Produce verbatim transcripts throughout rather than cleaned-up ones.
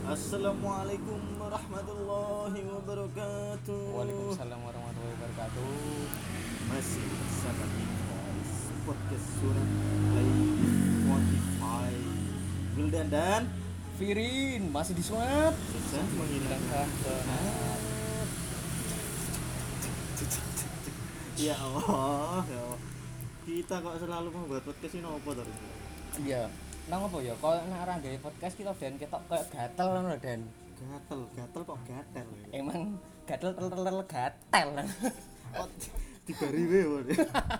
Assalamualaikum warahmatullahi wabarakatuh. Waalaikumsalam warahmatullahi wabarakatuh. Masih bersama kita di podcast surat play Spotify. Wildan dan Firin masih di swab. susah menghilangkan penat. Ya Allah, ya Allah. Kita kok selalu membuat podcast ini apa terus? Iya. Nang apa ya? Kalau nak ora gawe podcast kita dan ketok kayak gatel ngono dan. Gatel, gatel kok gatel. Emang gatel tel tel tel gatel. Kok tiga ribu ya.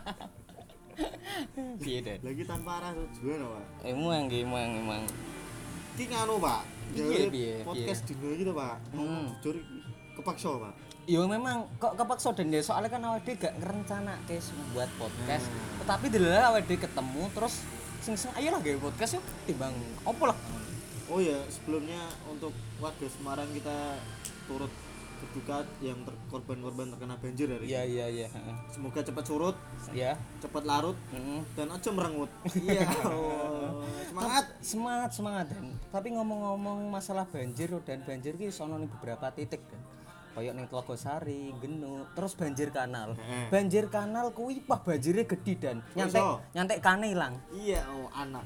Piye, Den? Lagi tanpa arah tujuan, Pak. Emang emang emang. Iki nganu, Pak. Piye, Jadi piye, podcast dino iki to, Pak. Hmm. Jujur iki kepaksa, Pak. Yo memang kok kepaksa dan ya soalnya kan awake dhewe gak ngerencanake buat podcast. Hmm. Tetapi delala awake dhewe ketemu terus sing-sing ayolah gawe podcast yuk timbang opo lah. Oh ya, sebelumnya untuk warga Semarang kita turut berduka yang ter- korban-korban terkena banjir hari Iya ini. iya iya, heeh. Semoga cepat surut, Ya. cepat larut Heeh. dan aja merengut. Iya. Allah. Semangat. Semangat semangat Dan. Tapi ngomong-ngomong masalah banjir dan banjir ki sono ning beberapa titik Dan. Kayak ning Tlogosari, Genuk, terus banjir kanal. Heeh. Banjir kanal kuwi wah banjirnya gede Dan. Nyantek iso? nyantek kane ilang. Iya, oh anak.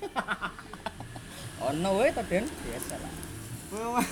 Ono wae to Den, biasa lah. Memang.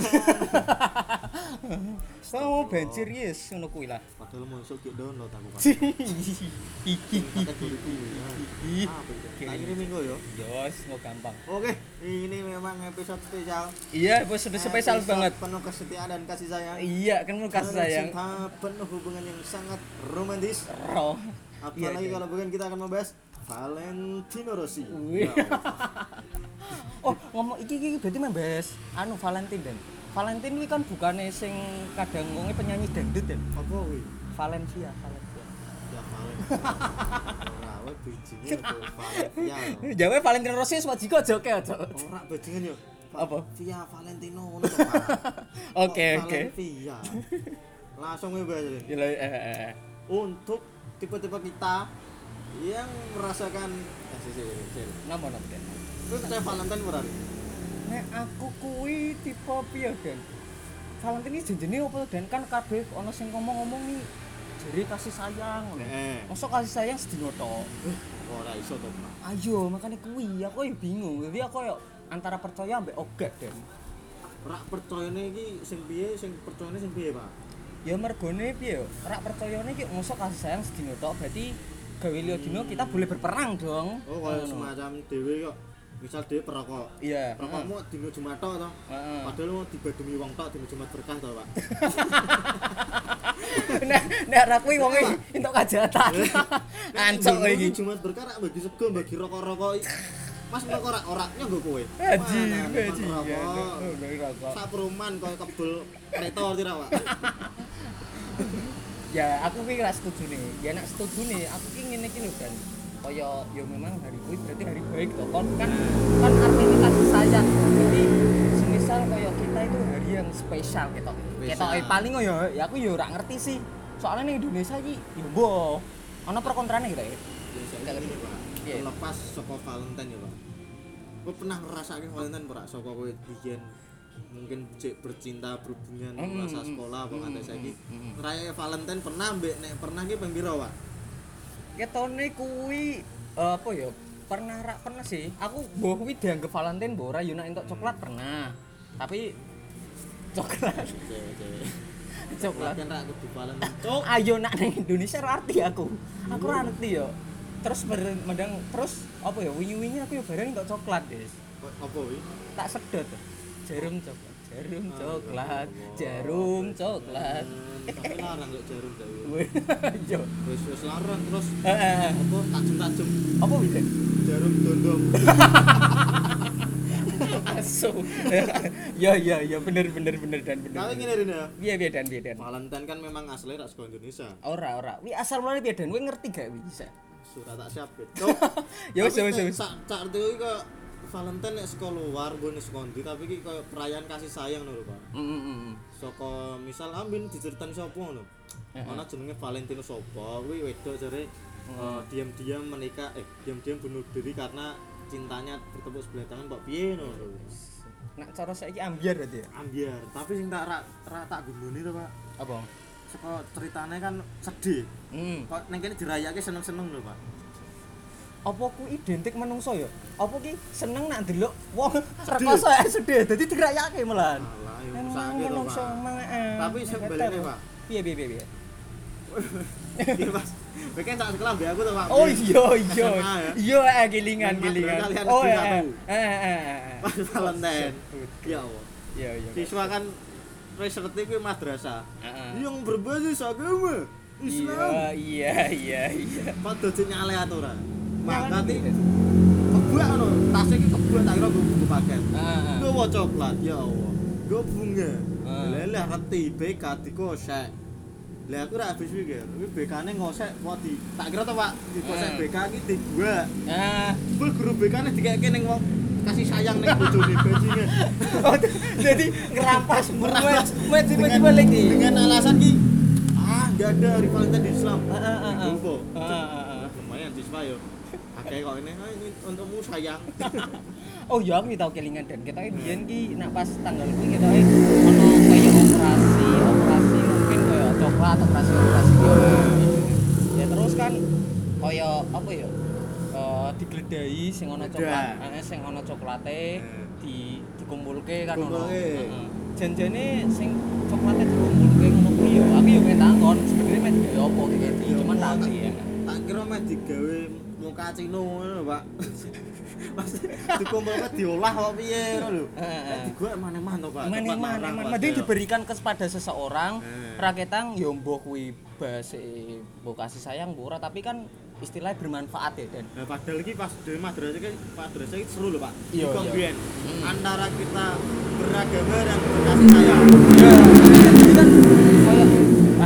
Mau banjir yes ngono kuwi lah. Padahal musuh ki download aku, Pak. Hihihi. Kategori kuwi. Apa itu? Tak kirimin kok ya. Yos, mau gampang. Oke, ini memang episode spesial. Iya, episode spesial Episode banget. penuh kesetiaan dan kasih sayang. Iya, kan mau kasih Penuh sayang. cinta, penuh hubungan yang sangat romantis. Roh. Apalagi Iya, kalau bukan kita akan membahas Valentino Rossi. Wih. Ya Allah. Oh, ngomong iki iki berarti membahas anu Valentine Dan. Valentine ini kan bukannya sing kadang ngomongnya penyanyi dangdut Dan. Apa kuwi? Valencia, Valencia. Ya Valentino. Ora wae bijine itu Valencia. Jawa Valentino Rossi wis wajiko joke aja. Ora bajingan yo. Apa? Via Valentino ngono to, Pak. Oke, Kok oke. Valencia. Langsung we bahas ini. Ya eh, eh, eh. Untuk tipe-tipe kita yang merasakan eh sih sih sih. Napa napa Dan? Lu percaya Valentine ora? Nek aku kuwi tipe piye Dan? Valentine iki jenenge apa Dan kan kabeh ana sing ngomong-ngomong nih jere kasih sayang ngono. Heeh. Mosok kasih sayang sedina tok. Eh, ora iso to, Pak. Ayo makanya kuwi aku ya bingung. Jadi aku ya antara percaya ambek ogah Dan. Ora percayane iki sing piye, sing percayane sing piye, Pak? Ya mergone piye yo? Ora percayane iki mosok kasih sayang sedina tok berarti gawe liya dina kita boleh berperang dong. Oh, kaya Ngono. semacam dhewe kok. Misal dhewe perokok. Iya. Rokokmu dino Jumat tok to. Heeh. Padahal mau dibadumi wong tok dino Jumat berkah to, Pak. Nek nek ra kuwi wong entuk kajatan. Ancok kowe iki. Jumat berkah rak bagi sego, bagi rokok-rokok. Mas rokok rak ora nyanggo kowe. Haji, Mana, haji. rokok. Ngene rokok. Sak perumahan kaya kebul kereta tira, Pak. Ya aku ki ra setuju nih. Ya nek setuju nih, aku ki ngene iki lho kan. Kaya ya memang hari kuwi berarti hari baik toh. Kon kan kan artinya kasih sayang. Jadi semisal kaya kita itu hari yang spesial ketok. Ketok eh, paling ya ya aku ya ora ngerti sih. Soalnya ning Indonesia iki ya mbok ana pro kontrane gitu ya. Ya saya Gak ngerti, ngerti. Pak. Iya. Terlepas saka Valentine ya, Pak. Kowe pernah ngrasake Valentine ora saka kowe biyen mungkin cek bercinta berhubungan Mm, masa mm, sekolah apa mm, nganti mm, saiki mm, mm. ngrayake Valentine pernah mbek nek pernah ki ping pira, Pak? Ketone kuwi eh, apa ya? Pernah rak pernah sih. Aku mbok kuwi dianggap Valentine mbok ora yo nek entuk coklat pernah. Tapi coklat Cewek-cewek. coklat Kan rak kudu Valentine. Cuk. ayo nak ning Indonesia ora arti aku. Aku ora ngerti yo. Terus ber- mendang terus apa ya wingi-wingi aku yo bareng entuk coklat, Guys. Apa kuwi? Tak sedot. Jarum coklat, jarum Ah, coklat, ya Allah. jarum coklat. Hmm, Tapi larang kok jarum ta. Wih, yo. Wis wis larang terus Heeh. apa tajem-tajem Apa wih? jarum dondong. Asu. Ya ya ya bener bener bener dan bener. Tapi ngene Rina. Piye piye dan piye dan. Valentine kan memang aslinya rak saka Indonesia. Ora ora. Wi asal mulane piye dan kowe ngerti gak wi bisa? Sudah tak siap. Cuk. Ya wis Tapi wis nek wis. Sak cak iki kok Valentine nek saka luar mbone saka ndi tapi iki koyo perayaan kasih sayang lho, Pak. Heeh heeh. Saka misal ambin diceritani sapa ngono. Heeh. Ana jenenge Valentino sapa kuwi wedok jare eh, diam-diam menikah eh diam-diam bunuh diri karena cintanya bertepuk sebelah tangan kok piye ngono lho. Nak cara saiki ambiar berarti ya. Ambiar, tapi sing tak ra, ra tak gundoni to, Pak. Apa? Saka ceritane kan sedih. Hmm. Kok ning kene dirayake seneng-seneng lho, Pak. Apa ku identik menungso ya? Apa ki seneng nak ndelok wong rekoso ae sedih dadi dirayake malahan. Alah, yo Emang sakit to, menungso Pak. emang eh. Tapi sebenarnya, Pak. Piye piye piye. piye? Iya, Mas. Bikin tak sekolah mbek aku to, Pak. Oh iya iya. S M A ya. Iya eh gilingan Mas, gilingan. kalian Oh negeri eh satu. eh eh. eh, eh. Pas Valentine. Ya Allah. Iya iya. Siswa kan wis ngerti kuwi madrasah. Heeh. Yang berbasis agama Islam. Iya iya iya. Kok dadi nyale aturan. Nyale Mangkat iki. iki kebuak ngono, tas iki kebuak tak kira buku paket. Heeh. Gowo coklat, ya Allah. Go bunga. Ah. Leleh ngerti B K dikosek. Lah aku ora habis pikir, iki B K-ne ngosek kok di tak kira to Pak, dikosek Ah. B K iki dibuak. Ah. Bel guru B K-ne dikeke ning wong kasih sayang ning bojone bajingan. Oh, jadi ngerampas Merampas. Met met balik nih. Dengan alasan ki ah enggak ada hari Valentine di Islam. Ah, ah, ah, ah. Gowo. Ah, ah, ah. Lumayan siswa yo. Akeh kok ini, ah, ini untukmu sayang. Oh iya aku tau kelingan dan kita biyen ki nak pas tanggal kuwi kita ono kaya operasi operasi mungkin kaya coklat operasi operasi yo. Ya terus kan kaya apa ya? Eh digledahi sing ono coklat, heeh sing ono coklate di dikumpulke kan ono. Dikumpulke. Heeh. Janjane sing coklate dikumpulke ngono kuwi yo. Aku yo pengen takon sebenarnya mek digawe apa iki cuman tak ya. Tak kira meh digawe muka cino ngono, Pak. Mas dikumpulke diolah kok piye ngono lho. Heeh. Digorek maneh-maneh to, Pak. Mana Tepat mana larang, mana Pak. mending diberikan kepada seseorang Eh. raketang yo mbok kuwi base mbok kasih sayang mbok ora tapi kan istilahnya bermanfaat ya dan Nah, padahal iki pas di madrasah iki madrasah iki seru lho, Pak. Iya, Iki iya. biyen Hmm. antara kita beragama dan berkasih sayang. ya jadi kan kayak ah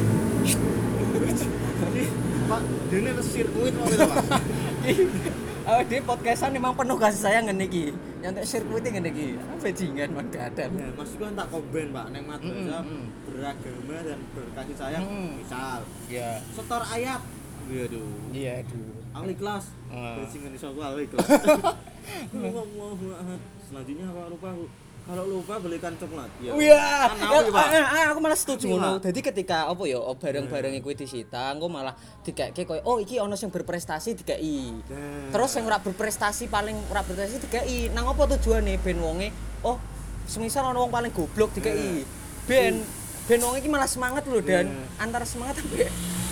Pak, dene sirkuit kok gitu, Pak. oh di podcastan memang penuh kasih sayang ngene iki nyantek sirkuit ngene iki bajingan man gadan Ya, maksudku kan tak komben, Pak, ning madrasah Mm, mm, beragama dan berkasih sayang. Mm. Misal, ya setor ayat. Waduh. iya aduh Al-Ikhlas. Ah. Bajingan iso aku Al-Ikhlas. Allahu Akbar. Selanjutnya apa lupa aku. Kalau lupa belikan coklat. Ya. Wah, Kan aku, Pak. eh, eh, aku malah setuju Tapi, ngono. Pak. Dadi ketika apa ya barang-barang kuwi disita, engko malah dikeke koyo oh iki ana sing berprestasi dikeki. Nah. Terus sing ora berprestasi paling ora berprestasi dikeki. Nang apa tujuane ben wonge oh semisal ana wong paling goblok dikeki. Ben ben wong iki malah semangat lho dan antara semangat ambek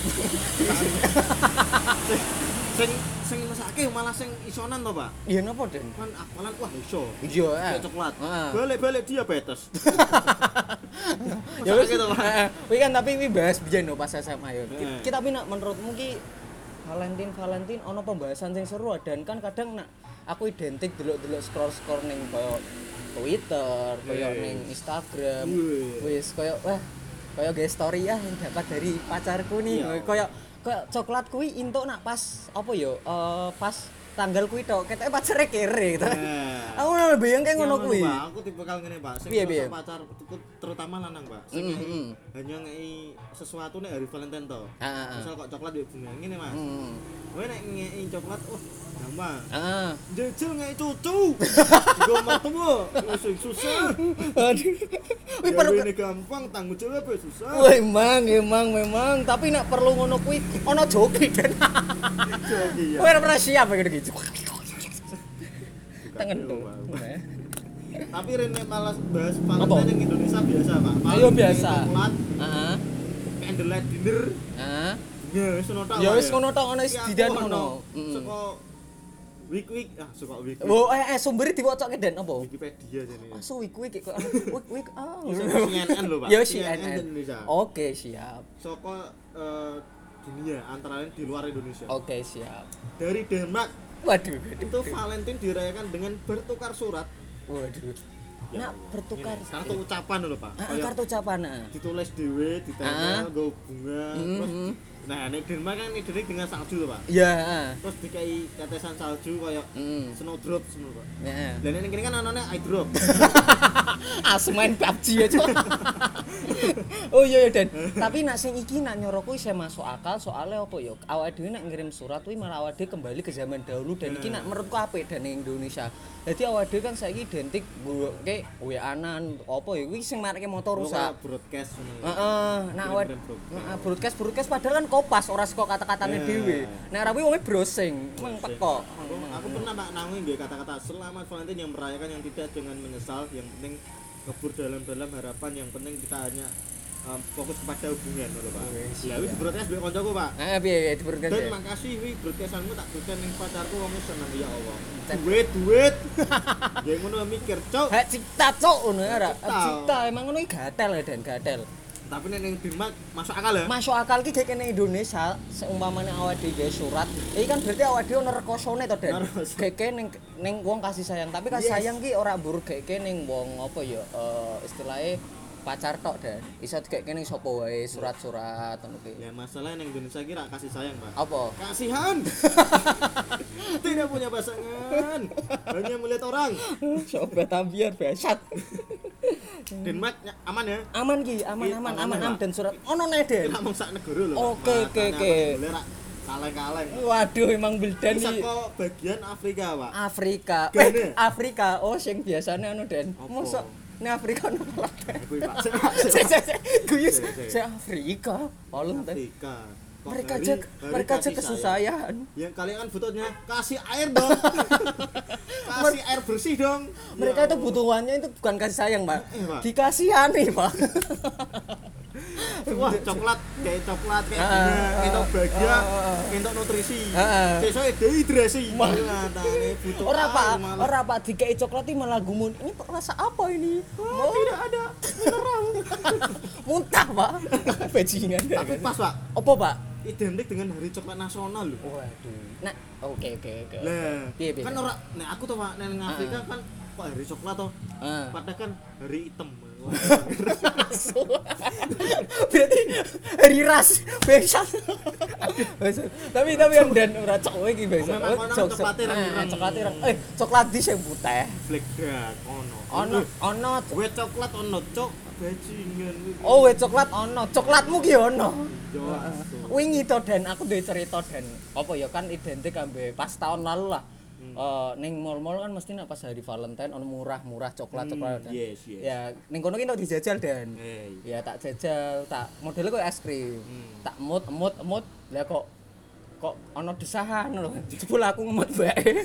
sing sing mesake malah sing isonan to, Pak. iya napa Den? Kan apalan wah iso. Iya, eh. Kayak coklat. Heeh. Balik-balik diabetes. Ya wis Mesake to, Pak. heeh. Kuwi kan tapi kuwi bahas biyen lho pas S M A ya. Heeh. Kita tapi nak menurutmu ki Valentine Valentine ono pembahasan sing seru dan kan kadang nak aku identik delok-delok scroll-scroll ning koyo Twitter, koyo Yes. ning Instagram. Wih. Wis koyo wah koyo ge story ya yang dapat dari pacarku nih. Iya. Koyo koyo coklat kuwi entuk nak pas apa yo eh, pas tanggal kuwi tok ketoke pacare kere gitu. Nah. Aku ora bayang kayak ngono Yang kuwi. Pak, aku tipe kal ngene, Pak. Sing Piye, rasa piye? pacar terutama lanang, Pak. Sing Mm, ngei- mm. hanya ngei sesuatu nek hari Valentine to. Heeh. Misal kok coklat yo bunga ngene, Mas. Heeh. Kowe nek ngei coklat, oh gampang. Heeh. Jajal ngei cucu. Nggo mertemu, sing susah. Aduh. Wih Ya perlu ini gampang, tanggung jawab ya susah. Wah, emang, emang, memang. Tapi nak perlu ngono kuwi ono joki dan. Jadi ya. Kowe ora pernah siap kayak gitu. Tangan tuh. Tapi Rene malas bahas Valentine yang Indonesia biasa, Pak. Ayo biasa. Coklat, Heeh. candlelight dinner. Heeh. Ya wis ngono tok. Ya Pak, wis ngono tok ono Iki aku didan ono ngono. Heeh. Saka week-week, ah suka week. Oh, eh, eh sumbere diwocoke Den apa? Wikipedia jane. Asu wik wik kok wik wik ah. Iso C N N lho, Pak. Ya C N N C N N. Indonesia. Oke, siap. Saka eh, dunia antara lain di luar Indonesia. Oke, siap. Dari Denmark Waduh. itu Valentine dirayakan dengan bertukar surat. Waduh. Ya Nak Allah. bertukar Ini, kartu ucapan lho, Pak. Ah, Kayak kartu ucapan. ah. ditulis dhewe, Ah. ditempel, nggo bunga, terus Mhm. nah nek Denmark kan identik dengan salju lho, Pak. Iya, heeh. Terus dikai tetesan salju kayak Heeh. snowdrop ngono, Pak. Heeh. Lah nek kene kan anane eye drop. Asu main P U B G ya, Cok. Oh iya ya Den. Tapi nak sing iki nak nyoro kuwi saya masuk akal soalnya apa ya? Awake dhewe nak ngirim surat kuwi malah awake dhewe kembali ke zaman dahulu dan iki nak menurutku apik dan ning Indonesia. Jadi awake dhewe kan saiki identik nggowoke W A-an apa ya kuwi sing marake motor rusak. Broadcast ngono. Heeh, nah awake heeh broadcast broadcast padahal kan kopas ora saka kata-katane dhewe. Nek ora kuwi wong browsing, meng teko. Aku, aku pernah Pak nanggung nggih kata-kata selamat Valentine yang merayakan yang tidak dengan menyesal, yang penting kebur dalam-dalam harapan, yang penting kita hanya um, fokus kepada hubungan lho Pak. Lah wis broadcast mbek kancaku Pak. Heeh piye piye di broadcast. Dan makasih wi broadcastanmu tak berikan ning pacarku wong seneng ya Allah. Duit duit. Ya ngono mikir, Cuk. Hak cipta cuk ngono ya ora. Cipta emang ngono iki gatel ya Den, gatel. Tapi nek ning Denmark masuk akal ya? Masuk akal ki kayak kene Indonesia seumpamane awake dhewe surat. Iki kan berarti awake dhewe ono rekosone to Den. Geke ning ning wong kasih sayang, tapi kasih sayang ki ora mbur geke ning wong apa ya eh istilahnya pacar tok Dan. Iso dikeke ning sapa wae surat-surat ngono ki. Ya masalah ning Indonesia ki ra kasih sayang, Pak. Apa? Kasihan. Tidak punya pasangan, hanya melihat orang. Sobat ambiar besat. Denmark ya, aman ya? Aman ki, aman Iya, aman aman, aman Pak. dan surat ono ne Den. Kita mau sak negara lho. Oke, oke, oke. Kaleng-kaleng. Waduh emang Bildan Bisa iki kok bagian Afrika, Pak. Afrika. Gane. Eh, Afrika. Oh sing biasane anu Den. Apa? Mosok nek Afrika ono kelas. Kuwi, Pak. Sik sik sik. Guyus. Sik, sik. Sik Afrika. Valentine. Afrika. Kok Mereka hari- aja hari mereka aja kasih kesusahan. sayang. Yang kalian kan butuhnya kasih air dong. Kasih air bersih dong. Mereka Ya itu Allah. butuhannya itu bukan kasih sayang, Pak. Eh, Pak. Dikasihani, Pak. Wah, coklat kayak coklat kayak Ah, bunga, ah, entuk bahagia, ah, ah. entuk nutrisi. Ah. Sesuai dehidrasi. Matane butuh Ora air Pak, malah. ora Pak dikei coklat iki malah gumun. Ini rasa apa ini? Oh, tidak ada mineral. Muntah, Pak. Bajingan. Tapi pas, Pak. Apa, Pak? Identik dengan hari coklat nasional loh. Waduh. Nah, oke oke oke. Lah, Piye, piye? kan ora nek aku tuh Pak, nek Afrika kan kok hari coklat toh. Ah. Padahal kan hari hitam. Berarti hari ras besok. Tapi tapi yang dan ora cok iki besok. Memang kono coklatnya ireng-ireng. Coklat ireng. Eh, coklat di sing putih. Black dark ono. Ono ono. Gue coklat ono cok bajingan. Oh, we coklat ono. Coklatmu ki ono. Yo. Wingi to Dan, aku duwe cerita Dan. Apa ya kan identik ambek pas tahun lalu lah. Eh ning mall-mall kan mesti nek pas hari Valentine ono murah-murah coklat-coklat. Hmm, yes, yes. Ya ning kono ki tok dijajal Dan. Eh, Ya tak jajal, tak modelnya kok es krim. Hmm. Tak emut emut emut. Lah kok kok ono desahan lho. Jebul aku ngemut bae.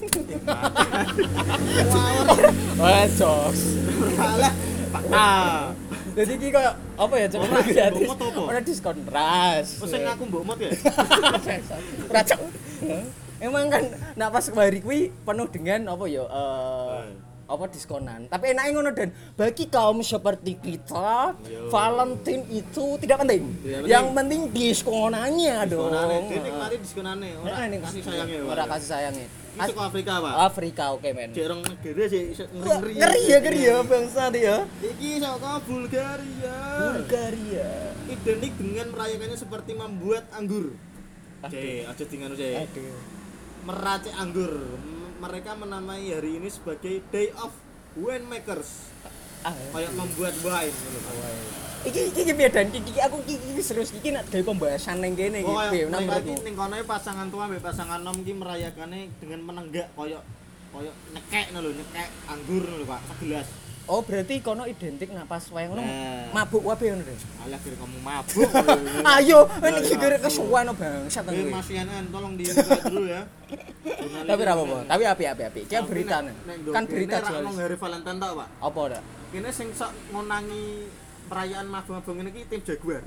Wah, jokes. Salah. Pak. Ah. Jadi iki koyo apa ya coklat Ora, gratis. mbok apa? Ora diskon ras. Pesen aku mbok mot ya. Ora cok. Emang kan nak pas hari kuwi penuh dengan apa ya eh Eh. apa diskonan. Tapi enaknya ngono Dan, bagi kaum seperti kita, Yo. Valentine itu tidak penting. Tidak penting. Yang penting diskonannya dong. Diskonane, dia nikmati diskonane, ora Nah, ini kasih sayangnya. Ora kasih sayangnya. Itu ke Afrika, Pak. Afrika oke men. Cek orang negara sih iso Wah, ngeri-ngeri. ngeri ya ngeri ya bangsa dia. Iki saka Bulgaria. Bulgaria. Identik dengan merayakannya seperti membuat anggur. Cek, aja tinggal cek. Aduh. Meracik anggur. M- Mereka menamai hari ini sebagai Day of Winemakers. Ah, Kayak membuat wine gitu, Pak. iki iki iki piye Dan? Iki iki aku iki iki serius iki nak gawe pembahasan ning kene iki Oh, piye kayak ning menurutmu? iki ning kono pasangan tua mbek pasangan nom iki merayakannya dengan menenggak koyo koyo nyekek lho, nyekek anggur lho, Pak, segelas. Oh, berarti kono identik nak pas wayang ngono Nah. mabuk wae ngono Den. Alah kira kamu mabuk. Ayo, Ya, ini kira mabuk. kesuwen bangsat Eh, kuwi. Mas Yanan, tolong dibuka dulu ya. Tapi ora apa-apa. Tapi api-api api. Ki Tapi berita nek- nek kan ndok berita kene ra jual. ngomong hari Valentine tau, Pak. Apa ora? Kene sing sok ngonangi perayaan mabuk-mabuk ngene iki tim Jaguar.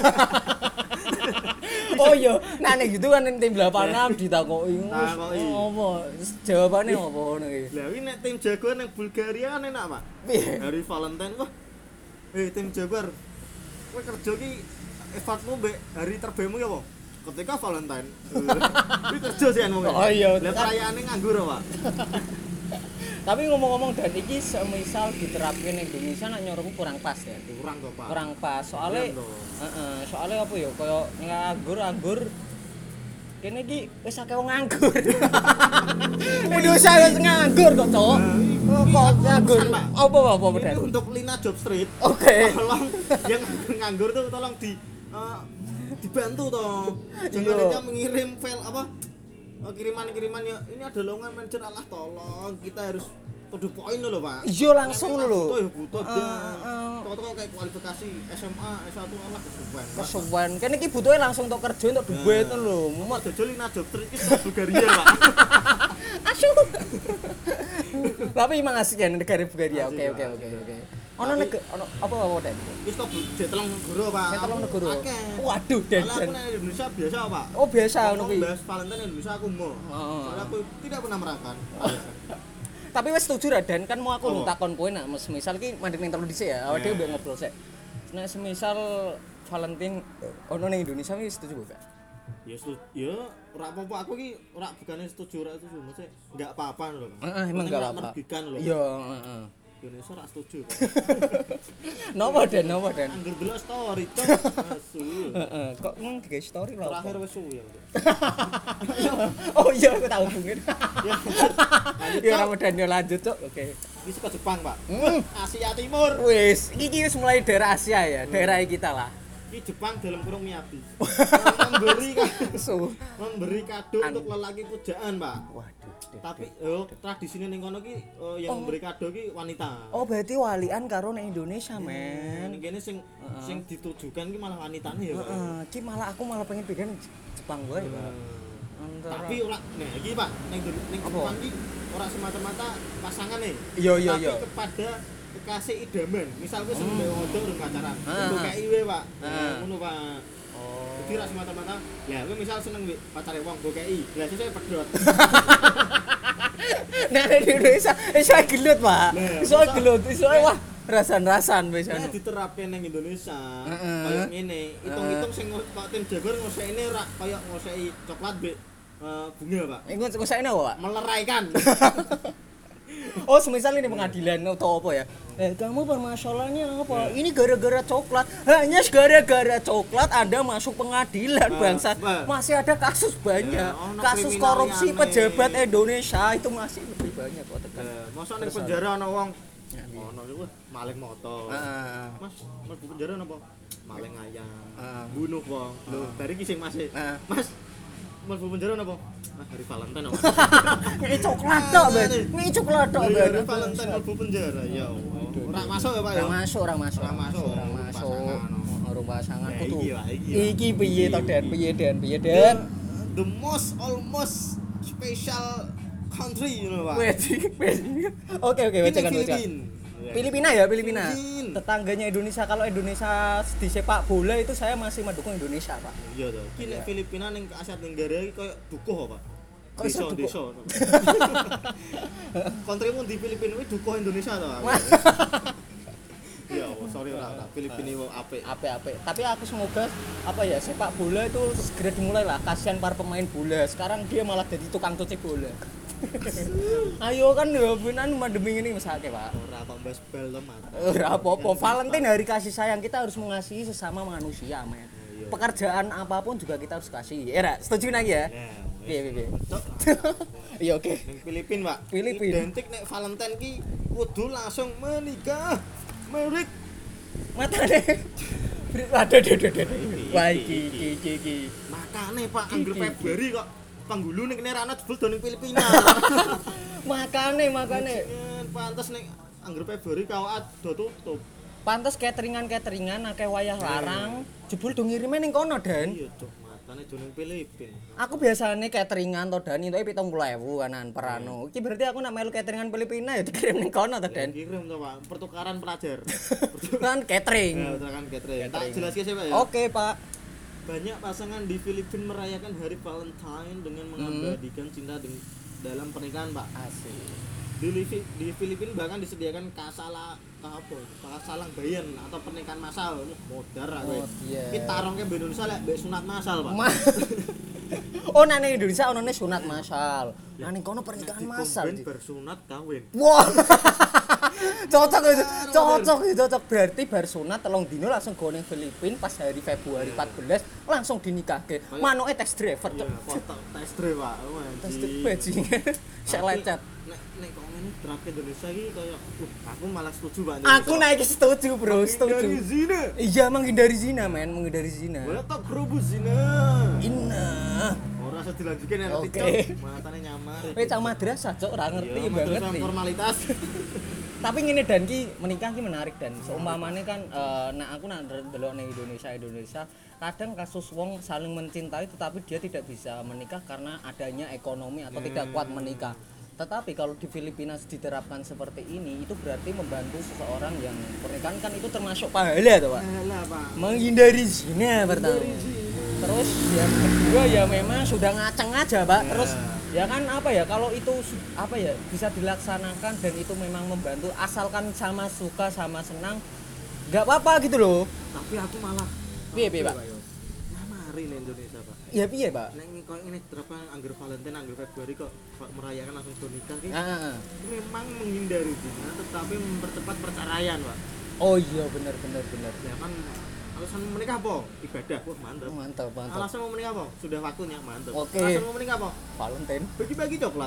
Oh iya, nah nek gitu kan ning tim delapan enam ditakoki. Takoki. Oh, apa? Jawabane apa ngono iki? Lah iki nek tim Jaguar ning Bulgaria kan enak, Pak. Piye? Hari Valentine wah. Eh tim Jaguar. Kowe kerja ki effortmu mbek hari terbaikmu ya apa? Ketika Valentine. Kuwi kerja sih anu. Oh iya. Lah perayaane nganggur, Pak. Tapi ngomong-ngomong Dan iki semisal diterapin ning Indonesia nak nyorongku kurang pas ya. Kurang kok, Pak. Kurang pas. Soale Iya, toh. heeh, soalnya apa ya kaya nganggur anggur Kene iki wis akeh wong nganggur. Indonesia wis nganggur kok, Cok. Oh, kok nganggur. Apa apa apa Ini untuk Lina Job Street. Oke. Tolong yang nganggur tuh tolong di eh, dibantu toh. Jangan Iya. aja mengirim file apa eh, kiriman-kiriman ya ini ada lowongan manajer Allah tolong kita harus to the point lho Pak. Iya langsung Butuh lho. ya butuh Heeh, dan heeh. toko-toko kayak kualifikasi S M A S satu Allah kesuwen. Kesuwen. Kene iki butuhe langsung tok kerja entuk duit Nah. lho. Mau dodol Lina Job Street iki sak Bulgaria Pak. Asyuk. Tapi emang asik ya negara Bulgaria. Oke Asik, oke Pak. oke oke. Ono Tapi- negara ono apa apa Den? Wis to jet telung negara Pak. Jet telung negara. Akeh. Waduh, Den, Malah Den. aku nang Indonesia biasa Pak. Oh biasa ngono Ngomong kuwi. bahas Valentine Indonesia aku mau. Heeh. Soalnya aku tidak pernah merayakan. Tapi wis setuju ra Dan kan mau aku Apa? takon kowe nak semisal ki mandek ning telu dhisik ya. Awake dhewe Nah. mbek ngobrol sik. Nek semisal Valentine ono ning Indonesia wis setuju gak? Ya setuju. Ya ora apa-apa aku ki ora bukannya setuju ora setuju, maksudnya enggak apa-apa lho. Pak. Heeh, emang Penting enggak ora apa-apa. merugikan lho. Iya, heeh. Indonesia ora setuju. Pak. Nopo Den, nopo Den? Angger delok story cok. Asu. Heeh, kok mung digawe story lho. Terakhir wis suwi ya. Oh iya aku tahu hubungin. Ya. Ya ora medan yo lanjut, Cuk. Oke. Iki ke Jepang, Pak. Hmm. Asia Timur. Wis, iki wis mulai daerah Asia ya, daerah kita lah. Iki Jepang dalam kurung Miyabi. Memberi ka- So, memberi kado An- untuk lelaki pujaan, Pak. waduh. Tapi yo tradisine ning kono ki eh, yang Oh. memberi kado ki wanita. Oh, berarti walian karo ning Indonesia, Men, men. kene sing sing ditujukan ki malah wanitane ya, Pak. Heeh, ki malah aku malah pengen bikin Jepang gue, Pak. Hmm. Antara- Tapi ora nah iki Pak ning ning Apa? Jepang ki ora semata-mata pasangan nih. Iya, iya, Tapi iya. kepada kekasih idaman. Misal kowe seneng mbek wong urung pacaran, Ah, untuk ah. kei we, Pak. Ah. Nah, ngono, Pak. Oh. Jadi ora semata-mata, ya kowe misal seneng mbek pacare wong mbok kei. Lah sesuk pedhot. Nah, di Indonesia iso gelut, Pak. Nah, Iso masa- gelut, iso wah rasan-rasan wis Nah, anu. diterapkan ning Indonesia. Heeh. Kayak ngene, hitung-hitung sing Pak Tim Jabar ngosekne rak kaya ngoseki coklat mbek eh, bunga, Pak. Iku ngosakne apa, Pak? Meleraikan. Oh, semisal ini pengadilan atau apa ya? Eh, kamu permasalahannya apa? Ini gara-gara coklat. Hanya gara-gara coklat Anda masuk pengadilan, Ah, bangsa. bah. Masih ada kasus banyak. Ya, ono Kasus kriminal korupsi yang pejabat aneh. Indonesia itu masih lebih banyak kok tekan. Eh, masa ning Terus penjara ana wong Ya, iya. ono iku maling motor. Ah, Mas, mlebu penjara napa? Maling ayam. Ah. Bunuh wong. Lho, dari ki sing Mas. e. Ah. Mas, mlebu penjara napa? Mas, hari Valentine Mas. ini coklat tok, Ben. Ini coklat tok, Hari Ben. hari Valentine mlebu penjara. Ya Allah. Ora masuk ya, Pak ya? Orang masuk, orang masuk, Orang masuk. orang masuk. Pasangan. Orang pasangan Ya, kudu. iki lah, iki lah. Iki piye to, Den? Piye, Den? Piye, The, Den? the most almost special country you know, Pak. Wes, wes. Oke, oke, Ini bacakan, baca. Filipina. Filipina ya, Filipina. Filipina. Tetangganya Indonesia. Kalau Indonesia di sepak bola itu saya masih mendukung Indonesia, Pak. Iya toh. Ki nek Iya. Filipina ning Asia Tenggara iki koyo dukuh Pak. Kok iso Desa, dukuh? desa. Kontrimu di Filipina kuwi dukuh Indonesia toh. Pak? Ya, oh, sorry ora, ora. Filipina wo apik. Ape-ape. Tapi aku semoga apa ya sepak bola itu segera dimulai lah. Kasihan para pemain bola. Sekarang dia malah jadi tukang cuci bola. Ayo kan ya benan pandemi ini mesake, Pak. Ora kok mbas bal to, Mas. Ora apa-apa. Valentine hari kasih sayang, kita harus mengasihi sesama manusia, men. iya. Pekerjaan apapun juga kita harus kasih. Ya, Ra? Setuju lagi ya? Nah, Piye, piye, piye. Cok, Iya, oke. ning Filipina, Pak. Filipina. Identik nek Valentine ki kudu langsung menikah. Merik. Matane. Waduh, waduh, waduh, waduh. Wah, iki, iki, iki, iki. Makane Pak anggur Iki, iki. Februari kok penggulu ning kene rana jebul do ning Filipina. Makane, makane. Jen, pantes ning anggur Februari kawat do tutup. Pantes cateringan-cateringan akeh wayah larang, jebul do ngirime ning kono, Dan. Iya, Cok. Matane do ning Filipina. Aku biasanya cateringan to Dan, itu pitung puluh ribu kanan per anu. Iki berarti aku nak melu cateringan Filipina ya dikirim ning kono to, Dan. Kirim to, Pak. Pertukaran pelajar. Kan catering. Ya, pertukaran catering. Tak Catering. jelaske sih, Pak ya. Oke, Pak. Banyak pasangan di Filipina merayakan hari Valentine dengan mengabadikan cinta deng- dalam pernikahan, Pak. Asik. Di, Livi- di Filipina bahkan disediakan kasala apa? Kasalang bayan atau pernikahan massal. Wah, modar aku. Oh, iya. Ki tarongke mbek Indonesia lek mbek sunat massal, Pak. Ma- oh, nang ning Indonesia onone sunat massal. Nah ning kono pernikahan massal. Dikomben bersunat kawin. Wah. Cocok itu, cocok itu, cocok. Berarti bar sunat telung dino langsung go ning Filipina pas hari Februari empat belas langsung dinikahke. Manuke tax driver, Iya, Cok. foto tes drive, Pak. Tax driver bajingan. Sek lecet. Nek nek kok ngene terapke Indonesia iki koyo uh, aku malah setuju, Pak. Aku naik setuju, Bro, setuju. Dari zina. Iya, menghindari zina, men, menghindari zina. Boleh tak grobu zina. Inna. Ora usah dilanjutke nek Oke. TikTok. Matane nyamar. Kowe cah madrasah, Cok, ora ngerti Iya, banget madrasah nih. formalitas. Tapi ngene dan ki menikah ki menarik dan seumpamane kan eh, nah aku nak delok ning Indonesia Indonesia kadang kasus wong saling mencintai tetapi dia tidak bisa menikah karena adanya ekonomi atau tidak kuat menikah. Tetapi kalau di Filipina diterapkan seperti ini itu berarti membantu seseorang yang pernikahan kan itu termasuk pahala tuh, Pak. Alah, Pak. Menghindari zina pertama. Terus yang kedua ya memang sudah ngaceng aja, Pak. Terus ya kan apa ya kalau itu su- apa ya bisa dilaksanakan dan itu memang membantu asalkan sama suka sama senang nggak apa-apa gitu loh. Tapi aku malah Piye, piye, Pak? Nyamari nih Indonesia, Pak. Ya piye, Pak? Nek koyo ngene terapkan anggar Valentine, anggar Februari kok kok merayakan langsung do nikah ki. Ah, ah, ah. Memang menghindari zina tetapi mempercepat perceraian, Pak. Oh iya benar benar benar. Ya kan alasan mau menikah apa? Ibadah. Wah, mantap. Mantap mantap. Alasan mau menikah apa? Sudah waktunya, mantap. Oke. Alasan mau menikah apa? Valentine. Bagi-bagi coklat.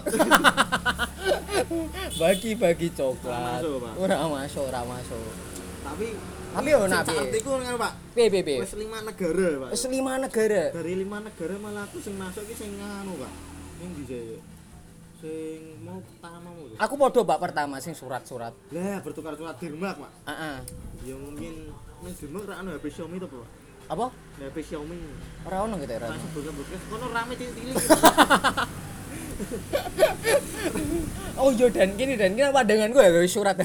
Bagi-bagi coklat. Ora masuk, Pak. Ora masuk, ora masuk. Tapi Tapi yo nak piye? artiku ngono, Pak. Piye piye piye? Wis lima negara, Pak. Wis lima negara. Dari lima negara malah aku sing masuk iki sing nganu, Pak. Ning ndi saya? Sing mau pertama mau. Aku podo, Pak, pertama sing surat-surat. Lah, bertukar surat Denmark, Pak. Heeh. Ya mungkin ning Denmark ra ono H P Xiaomi to, Pak. Apa? H P Xiaomi. Ora ono gitu ora. Ra ono. sebut-sebut. Kono rame cilik-cilik. Oh iya dan gini dan gini pandangan gue ya surat.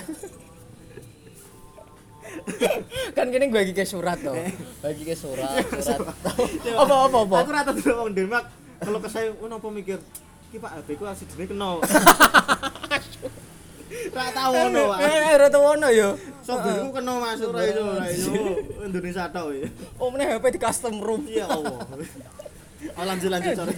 Kan gini gue lagi ke surat tuh. Bagi ke surat, surat. Apa apa apa. Aku rata dulu wong Denmark. Kalau ke saya, oh napa mikir, iki Pak H P ku asidene kena. Ra tau ngono, Pak. Eh, ora tau ono yo. Softwareku kena masuk ra iso, ra iso. Indonesia tok ya. Oh, meneh H P di custom room. Ya Allah. Oh lanjut lanjut sorry.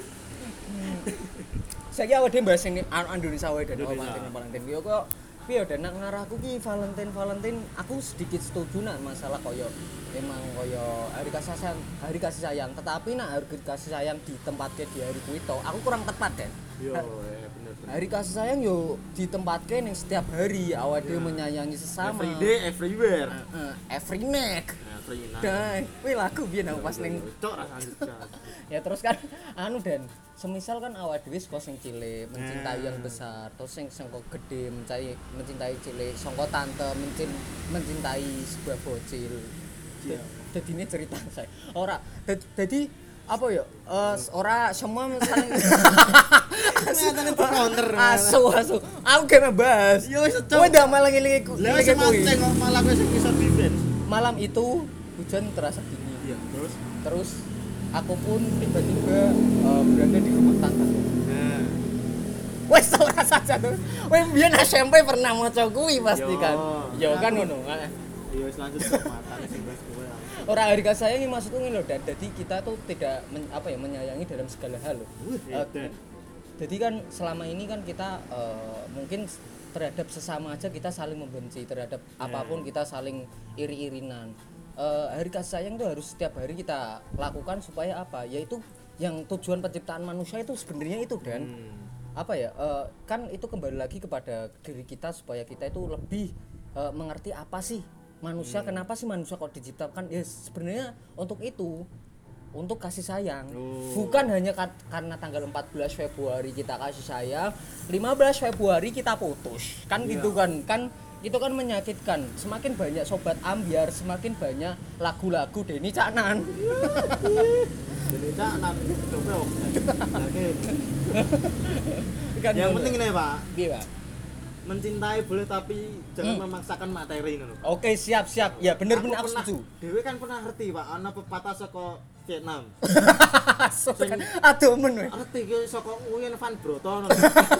Saiki awake dhewe bahas ini Indonesia wae dan Indonesia. Valentine Valentine. Yo kok piye dan nak ngarahku ki Valentine Valentine aku sedikit setuju nak masalah koyo emang koyo hari kasih sayang, hari kasih sayang, tetapi nak hari kasih sayang ditempatke di hari kuwi to, aku kurang tepat kan. Yo, eh bener bener. Hari kasih sayang yo ditempatke ning setiap hari awake dhewe menyayangi sesama. Every day everywhere. Heeh, every night. Every night. Dan kuwi lagu biyen aku pas ning cok ra lanjut. Cok. ya terus kan anu dan semisal kan awak dhewe saka sing cilik mencintai yang besar terus sing sangka gede mencintai mencintai cilik sangka tante mencin, mencintai sebuah bocil. Iya. Jadi ini cerita saya ora jadi apa ya eh, ora semua saling Nyatane counter. asu asu aku gak bahas Yo wis cok. kowe ndak malah ngilingi Lah ngilingi sama kuwi. kok malah kowe sing bisa defense. Malam itu hujan terasa dingin Iya, terus terus aku pun tiba-tiba uh, berada di rumah tanggaku. nah Wes ora saja tuh. Wes biyen S M P pernah maca kuwi pasti Yo. kan. Yo kan Aku- ngono. iya wis lanjut kok matane sing bahas kowe. Ora hari kasih sayang ini maksudku ngene lho, dan jadi kita tuh tidak men- apa ya menyayangi dalam segala hal loh. Wih, Eh, edan. Jadi kan selama ini kan kita eh, mungkin terhadap sesama aja kita saling membenci, terhadap apapun kita saling iri-irinan. Eh, hari kasih sayang tuh harus setiap hari kita lakukan supaya apa? Yaitu yang tujuan penciptaan manusia itu sebenarnya itu dan Hmm. apa ya? eh, kan itu kembali lagi kepada diri kita supaya kita itu lebih eh, mengerti apa sih manusia, kenapa sih manusia kok diciptakan? Ya sebenarnya untuk itu. Untuk kasih sayang. Oh. Bukan hanya ka- karena tanggal empat belas Februari kita kasih sayang, lima belas Februari kita putus. Kan Iya. gitu kan. Kan itu kan menyakitkan. Semakin banyak sobat ambiar, semakin banyak lagu-lagu Denny Caknan. Jadi cak nak coba oke. Kan Yang ngono. penting ini Pak, Piye, Pak? mencintai boleh tapi jangan memaksakan materi ngono. Oke, siap-siap. Ya bener-bener aku, pernah, setuju. Dewe kan pernah ngerti Pak, ana pepatah saka Vietnam. So, kan aduh men we. Ngerti ki saka Nguyen Van Broto. ngono.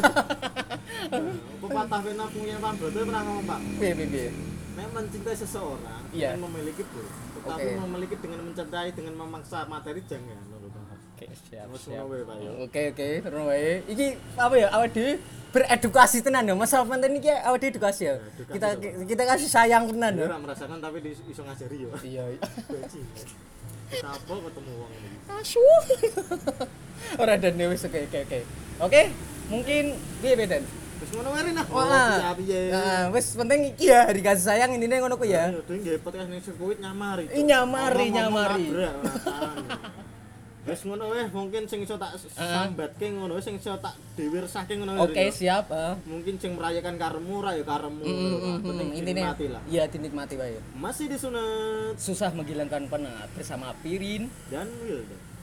Pepatah Vietnam Nguyen Van Broto pernah ngomong Pak, Piye piye piye. nek mencintai seseorang Iya. dengan memiliki boleh, tetapi Oke. memiliki dengan mencintai dengan memaksa materi jangan ngono Pak. Oke, siap. Wes siap. ngono wae Pak ya. Oke oke, terus wae. Iki apa ya awake dhewe beredukasi tenan ya. Masalah penting iki awake dhewe edukasi ya. Edukasi Kita to, kita kasih sayang tenan Dia ya. ora merasakan tapi di, iso ngajari yo. Iya. Bajingan. Kita apa ketemu wong ini. Asu. Ora dan wis oke oke oke. Oke, mungkin piye beden? Wis ngono wae nah. Wah. Piye? Nah, wis penting iki ya hari kasih sayang intine ngono ku ya. Ayo dhewe nggih podcast ning sirkuit nyamari. Ih, nyamari, nyamari. Wis ngono wae mungkin sing iso tak sambatke ngono sing iso tak dhewe resahke ngono. Oke, siap. heeh. Mungkin sing merayakan karemu ra ya karemu. Mm, Penting intine dinikmati lah. iya dinikmati wae. Masih disunat Susah menghilangkan penat bersama Pirin dan Wildan.